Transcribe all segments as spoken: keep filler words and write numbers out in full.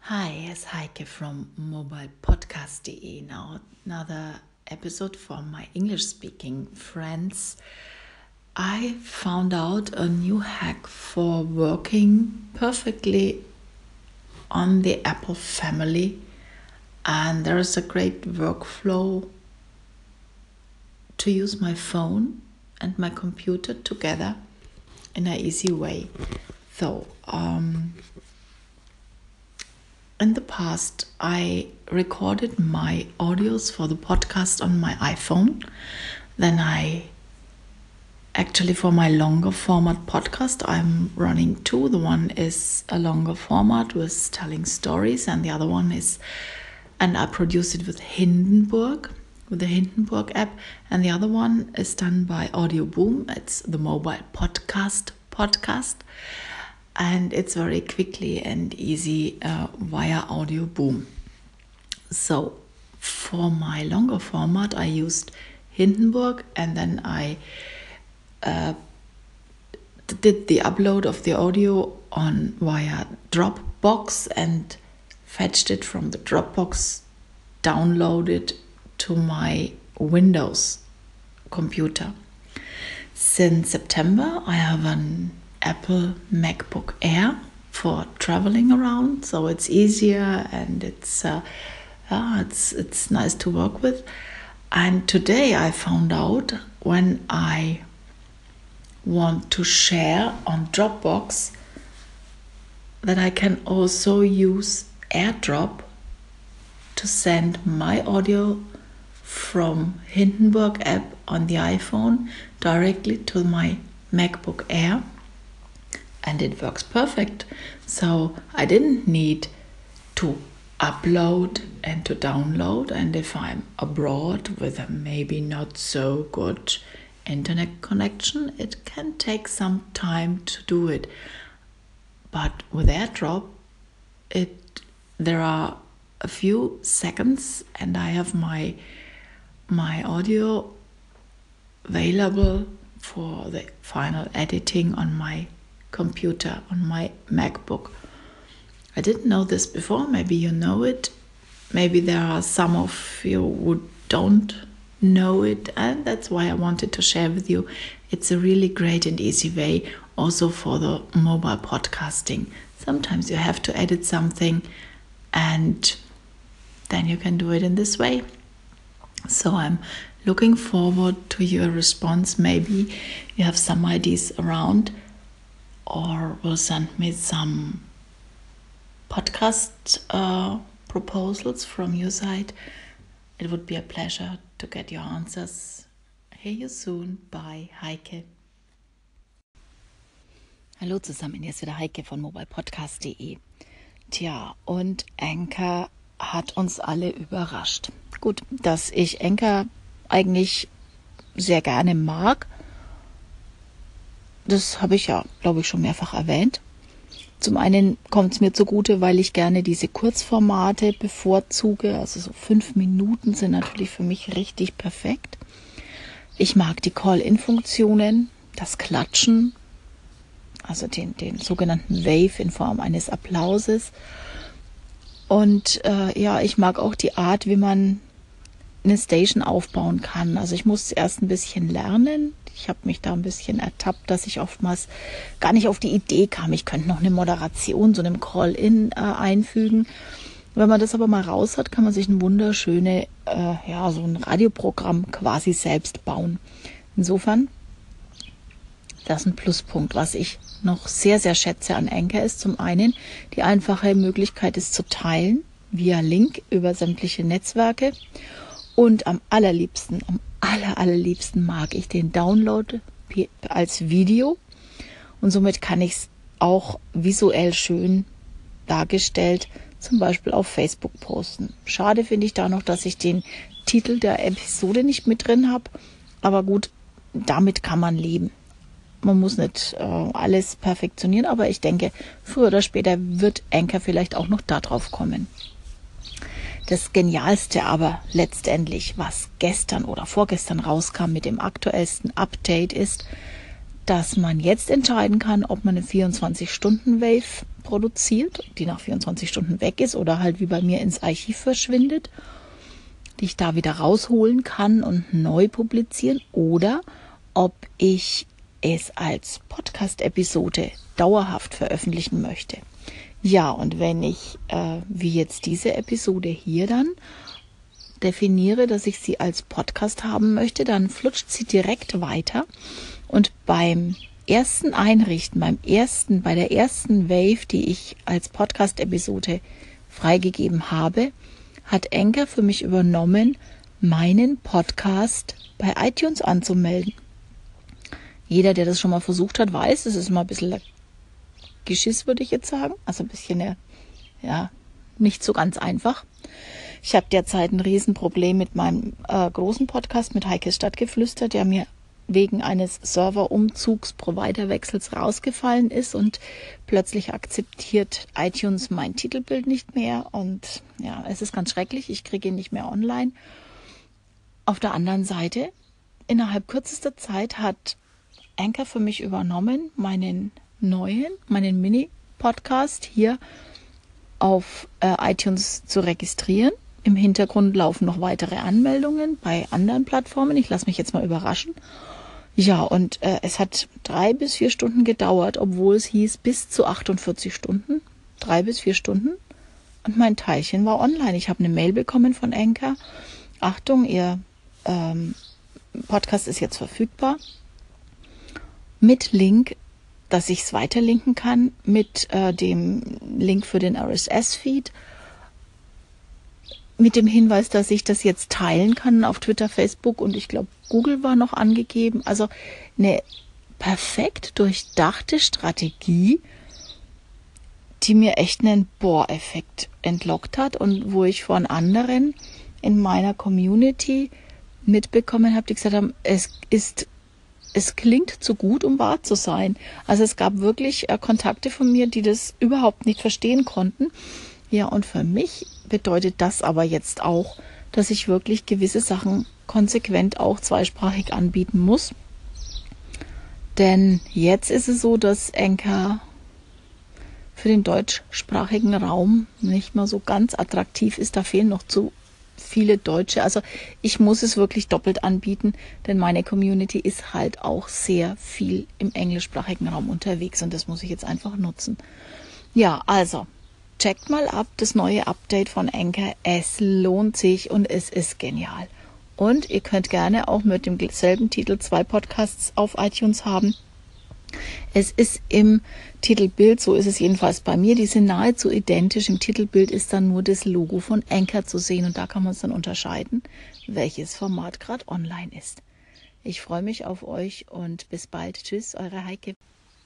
Hi, it's Heike from mobile podcast dot de. Now another episode for my English-speaking friends. I found out a new hack for working perfectly on the Apple family, and there is a great workflow to use my phone and my computer together in an easy way. So, um, in the past, I recorded my audios for the podcast on my iPhone. Then I actually, for my longer format podcast, I'm running two. The one is a longer format with telling stories, and the other one is, and I produce it with Hindenburg, with the Hindenburg app. And the other one is done by Audio Boom. It's the mobile podcast podcast. And it's very quickly and easy uh, via Audio Boom. So for my longer format, I used Hindenburg, and then I uh, did the upload of the audio on via Dropbox and fetched it from the Dropbox, downloaded to my Windows computer. Since September, I have an Apple MacBook Air for traveling around, so it's easier and it's uh, yeah, it's it's nice to work with. And today I found out when I want to share on Dropbox that I can also use AirDrop to send my audio from Hindenburg app on the iPhone directly to my MacBook Air. And it works perfect. So I didn't need to upload and to download. And if I'm abroad with a maybe not so good internet connection, it can take some time to do it. But with AirDrop, it there are a few seconds, and I have my my audio available for the final editing on my computer, on my MacBook. I didn't know this before. Maybe you know it. Maybe there are some of you who don't know it, and that's why I wanted to share with you. It's a really great and easy way also for the mobile podcasting. Sometimes you have to edit something, and then you can do it in this way. So I'm looking forward to your response. Maybe you have some ideas around, or will send me some podcast uh, proposals from your side. It would be a pleasure to get your answers. Hear you soon. Bye, Heike. Hallo zusammen, hier ist wieder Heike von mobile podcast dot de. Tja, und Anchor hat uns alle überrascht. Gut, dass ich Anchor eigentlich sehr gerne mag, das habe ich ja, glaube ich, schon mehrfach erwähnt. Zum einen kommt es mir zugute, weil ich gerne diese Kurzformate bevorzuge. Also so fünf Minuten sind natürlich für mich richtig perfekt. Ich mag die Call-In-Funktionen, das Klatschen, also den, den sogenannten Wave in Form eines Applauses. Und äh, ja, ich mag auch die Art, wie man eine Station aufbauen kann. Also ich musste erst ein bisschen lernen. Ich habe mich da ein bisschen ertappt, dass ich oftmals gar nicht auf die Idee kam, ich könnte noch eine Moderation, so einem Call-In äh, einfügen. Wenn man das aber mal raus hat, kann man sich ein wunderschönes, äh, ja, so ein Radioprogramm quasi selbst bauen. Insofern, das ist ein Pluspunkt. Was ich noch sehr, sehr schätze an Anchor ist zum einen die einfache Möglichkeit, es zu teilen via Link über sämtliche Netzwerke. Und am allerliebsten, am aller, allerliebsten mag ich den Download als Video. Und somit kann ich es auch visuell schön dargestellt, zum Beispiel auf Facebook posten. Schade finde ich da noch, dass ich den Titel der Episode nicht mit drin habe. Aber gut, damit kann man leben. Man muss nicht äh, alles perfektionieren, aber ich denke, früher oder später wird Anchor vielleicht auch noch da drauf kommen. Das Genialste aber letztendlich, was gestern oder vorgestern rauskam mit dem aktuellsten Update, ist, dass man jetzt entscheiden kann, ob man eine vierundzwanzig-Stunden-Wave produziert, die nach vierundzwanzig Stunden weg ist oder halt wie bei mir ins Archiv verschwindet, die ich da wieder rausholen kann und neu publizieren, oder ob ich es als Podcast-Episode dauerhaft veröffentlichen möchte. Ja, und wenn ich, äh, wie jetzt diese Episode hier dann, definiere, dass ich sie als Podcast haben möchte, dann flutscht sie direkt weiter. Und beim ersten Einrichten, beim ersten, bei der ersten Wave, die ich als Podcast-Episode freigegeben habe, hat Anchor für mich übernommen, meinen Podcast bei iTunes anzumelden. Jeder, der das schon mal versucht hat, weiß, es ist mal ein bisschen Geschiss, würde ich jetzt sagen. Also ein bisschen, ja, nicht so ganz einfach. Ich habe derzeit ein Riesenproblem mit meinem äh, großen Podcast, mit Heikes Stadtgeflüster, der mir wegen eines Serverumzugs, Providerwechsels rausgefallen ist, und plötzlich akzeptiert iTunes mein Titelbild nicht mehr, und ja, es ist ganz schrecklich, ich kriege ihn nicht mehr online. Auf der anderen Seite, innerhalb kürzester Zeit hat Anchor für mich übernommen, meinen neuen, meinen Mini-Podcast hier auf äh, iTunes zu registrieren. Im Hintergrund laufen noch weitere Anmeldungen bei anderen Plattformen. Ich lasse mich jetzt mal überraschen. Ja, und äh, es hat drei bis vier Stunden gedauert, obwohl es hieß bis zu achtundvierzig Stunden. Drei bis vier Stunden. Und mein Teilchen war online. Ich habe eine Mail bekommen von Anchor. Achtung, Ihr ähm, Podcast ist jetzt verfügbar. Mit Link, dass ich es weiterlinken kann, mit äh, dem Link für den R S S-Feed. Mit dem Hinweis, dass ich das jetzt teilen kann auf Twitter, Facebook und ich glaube Google war noch angegeben. Also eine perfekt durchdachte Strategie, die mir echt einen Boah-Effekt entlockt hat und wo ich von anderen in meiner Community mitbekommen habe, die gesagt haben, es ist, es klingt zu gut, um wahr zu sein. Also es gab wirklich äh, Kontakte von mir, die das überhaupt nicht verstehen konnten. Ja, und für mich bedeutet das aber jetzt auch, dass ich wirklich gewisse Sachen konsequent auch zweisprachig anbieten muss. Denn jetzt ist es so, dass Anchor für den deutschsprachigen Raum nicht mehr so ganz attraktiv ist. Da fehlen noch zu viele Deutsche. Also ich muss es wirklich doppelt anbieten, denn meine Community ist halt auch sehr viel im englischsprachigen Raum unterwegs und das muss ich jetzt einfach nutzen. Ja, also checkt mal ab das neue Update von Anchor. Es lohnt sich und es ist genial. Und ihr könnt gerne auch mit demselben Titel zwei Podcasts auf iTunes haben. Es ist im Titelbild, so ist es jedenfalls bei mir, die sind nahezu identisch. Im Titelbild ist dann nur das Logo von Anchor zu sehen und da kann man es dann unterscheiden, welches Format gerade online ist. Ich freue mich auf euch und bis bald. Tschüss, eure Heike.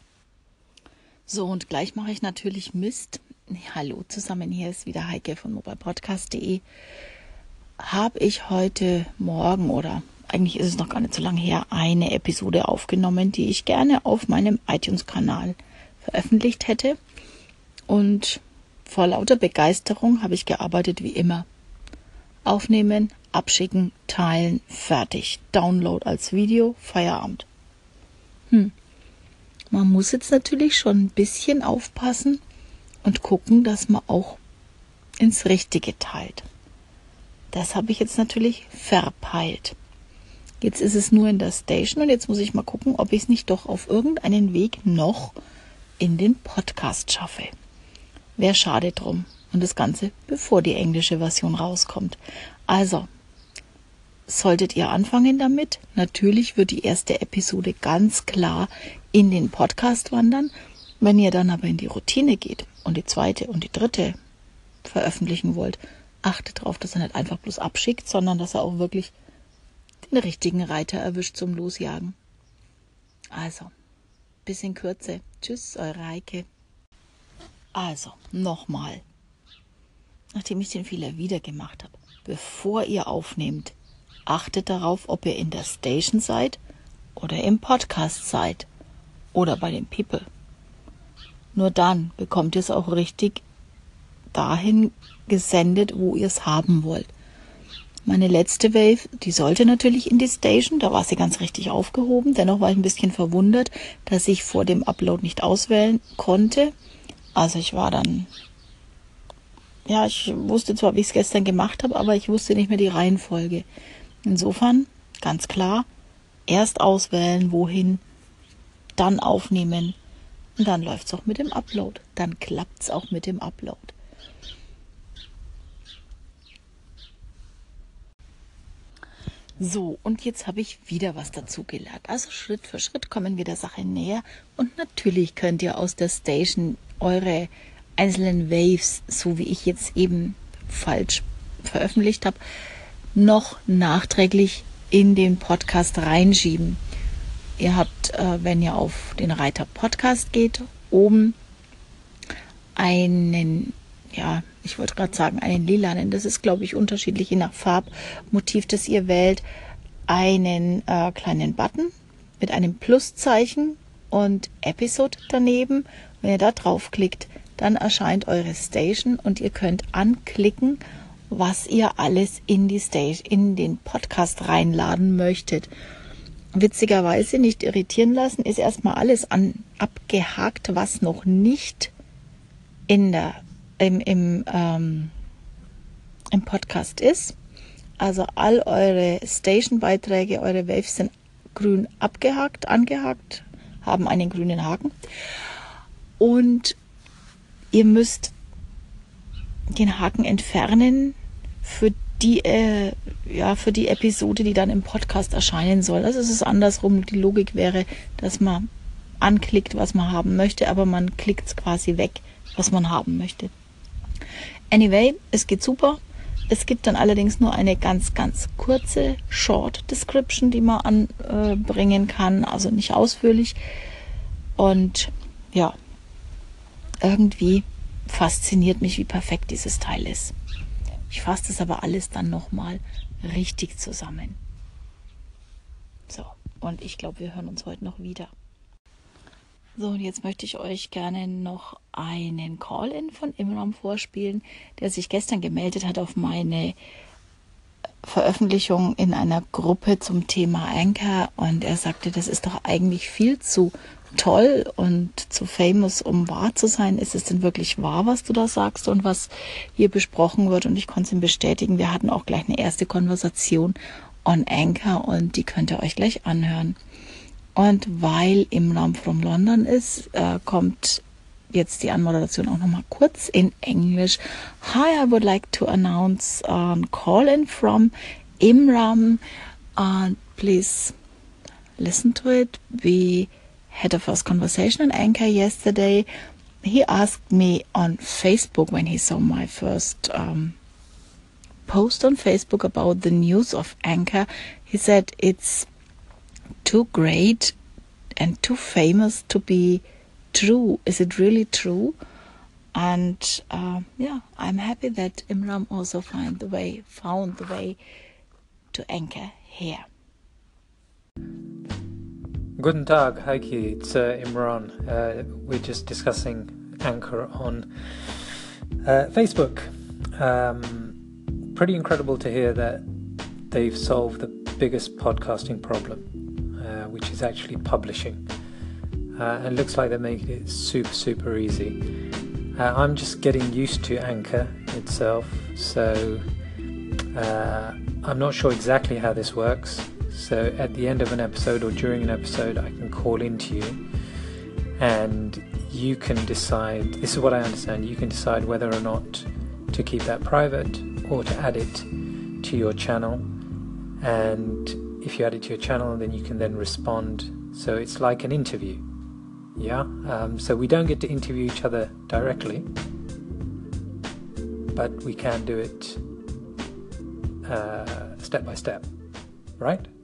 So, und gleich mache ich natürlich Mist. Hallo zusammen, hier ist wieder Heike von mobilepodcast punkt de. Habe ich heute Morgen, oder eigentlich ist es noch gar nicht so lange her, eine Episode aufgenommen, die ich gerne auf meinem iTunes-Kanal veröffentlicht hätte. Und vor lauter Begeisterung habe ich gearbeitet wie immer. Aufnehmen, abschicken, teilen, fertig. Download als Video, Feierabend. Hm. Man muss jetzt natürlich schon ein bisschen aufpassen und gucken, dass man auch ins Richtige teilt. Das habe ich jetzt natürlich verpeilt. Jetzt ist es nur in der Station und jetzt muss ich mal gucken, ob ich es nicht doch auf irgendeinen Weg noch in den Podcast schaffe. Wäre schade drum. Und das Ganze, bevor die englische Version rauskommt. Also, solltet ihr anfangen damit, natürlich wird die erste Episode ganz klar in den Podcast wandern. Wenn ihr dann aber in die Routine geht und die zweite und die dritte veröffentlichen wollt, achtet darauf, dass er nicht einfach bloß abschickt, sondern dass er auch wirklich den richtigen Reiter erwischt zum Losjagen. Also, bis in Kürze. Tschüss, eure Heike. Also, nochmal. Nachdem ich den Fehler wieder gemacht habe, bevor ihr aufnehmt, achtet darauf, ob ihr in der Station seid oder im Podcast seid oder bei den People. Nur dann bekommt ihr es auch richtig dahin gesendet, wo ihr es haben wollt. Meine letzte Wave, die sollte natürlich in die Station, da war sie ganz richtig aufgehoben. Dennoch war ich ein bisschen verwundert, dass ich vor dem Upload nicht auswählen konnte. Also ich war dann, ja, ich wusste zwar, wie ich es gestern gemacht habe, aber ich wusste nicht mehr die Reihenfolge. Insofern, ganz klar, erst auswählen, wohin, dann aufnehmen und dann läuft es auch mit dem Upload. Dann klappt es auch mit dem Upload. So, und jetzt habe ich wieder was dazugelernt. Also Schritt für Schritt kommen wir der Sache näher. Und natürlich könnt ihr aus der Station eure einzelnen Waves, so wie ich jetzt eben falsch veröffentlicht habe, noch nachträglich in den Podcast reinschieben. Ihr habt, äh, wenn ihr auf den Reiter Podcast geht, oben einen, ja, ich wollte gerade sagen, einen lilanen, das ist, glaube ich, unterschiedlich je nach Farbmotiv, das ihr wählt, einen äh, kleinen Button mit einem Pluszeichen und Episode daneben. Wenn ihr da draufklickt, dann erscheint eure Station und ihr könnt anklicken, was ihr alles in die Station, in den Podcast reinladen möchtet. Witzigerweise, nicht irritieren lassen, ist erstmal alles an, abgehakt, was noch nicht in der Im, im, ähm, im Podcast ist. Also all eure Station-Beiträge, eure Waves sind grün abgehakt, angehakt, haben einen grünen Haken. Und ihr müsst den Haken entfernen für die, äh, ja, für die Episode, die dann im Podcast erscheinen soll. Also es ist andersrum. Die Logik wäre, dass man anklickt, was man haben möchte, aber man klickt es quasi weg, was man haben möchte. Anyway, es geht super. Es gibt dann allerdings nur eine ganz, ganz kurze Short Description, die man anbringen kann, also nicht ausführlich. Und ja, irgendwie fasziniert mich, wie perfekt dieses Teil ist. Ich fasse das aber alles dann nochmal richtig zusammen. So, und ich glaube, wir hören uns heute noch wieder. So, und jetzt möchte ich euch gerne noch einen Call-In von Imram vorspielen, der sich gestern gemeldet hat auf meine Veröffentlichung in einer Gruppe zum Thema Anchor. Und er sagte, das ist doch eigentlich viel zu toll und zu famous, um wahr zu sein. Ist es denn wirklich wahr, was du da sagst und was hier besprochen wird? Und ich konnte es ihm bestätigen. Wir hatten auch gleich eine erste Konversation on Anchor und die könnt ihr euch gleich anhören. Und weil Imram from London ist, äh, kommt jetzt die Anmoderation auch nochmal kurz in Englisch. Hi, I would like to announce a call-in from Imram. Uh, please listen to it. We had a first conversation on Anchor yesterday. He asked me on Facebook when he saw my first um, post on Facebook about the news of Anchor. He said it's too great and too famous to be true. Is it really true? And uh, yeah, I'm happy that Imram also found the way, found the way to Anchor here. Guten Tag, Heike, it's uh, Imran. Uh, we're just discussing Anchor on uh, Facebook. Um, pretty incredible to hear that they've solved the biggest podcasting problem, uh, which is actually publishing. Uh, and it looks like they're making it super, super easy. Uh, I'm just getting used to Anchor itself, so uh, I'm not sure exactly how this works. So at the end of an episode or during an episode, I can call into you and you can decide, this is what I understand, you can decide whether or not to keep that private or to add it to your channel. And if you add it to your channel, then you can then respond. So it's like an interview. Yeah. Um, so we don't get to interview each other directly, but we can do it uh, step by step, right?